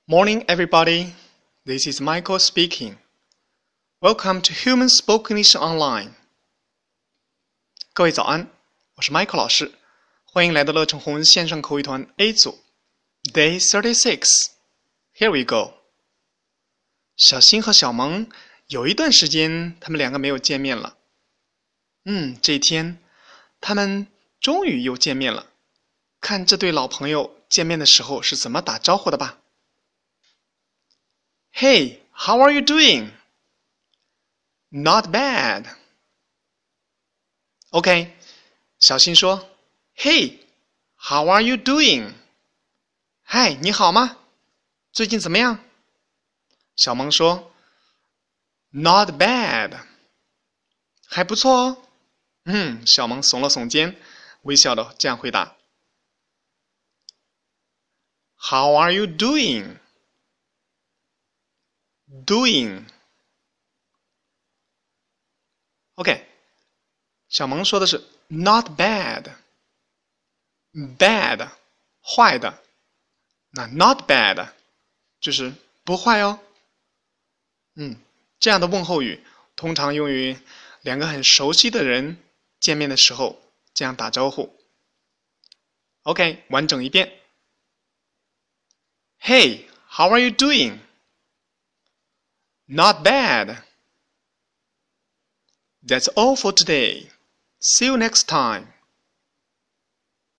Morning, everybody. This is Michael speaking. Welcome to Human Spoken English Online. 各位早安，我是 Michael 老师，欢迎来到乐成红线上口语团 A 组 Day 36. Here we go. 小新和小萌有一段时间他们两个没有见面了。这一天他们终于又见面了。看这对老朋友见面的时候是怎么打招呼的吧。Hey, how are you doing? Not bad. OK, 小新说 Hey, how are you doing? 嗨，你好吗？最近怎么样？小萌说 Not bad. 还不错哦。小萌耸了耸肩，微笑的这样回答。How are you doing? Doing. OK, 小萌说的是 not bad. Bad, 坏的。那 not bad 就是不坏哦。这样的问候语通常用于两个很熟悉的人见面的时候这样打招呼。OK, 完整一遍。Hey, how are you doing? Not bad. That's all for today. See you next time.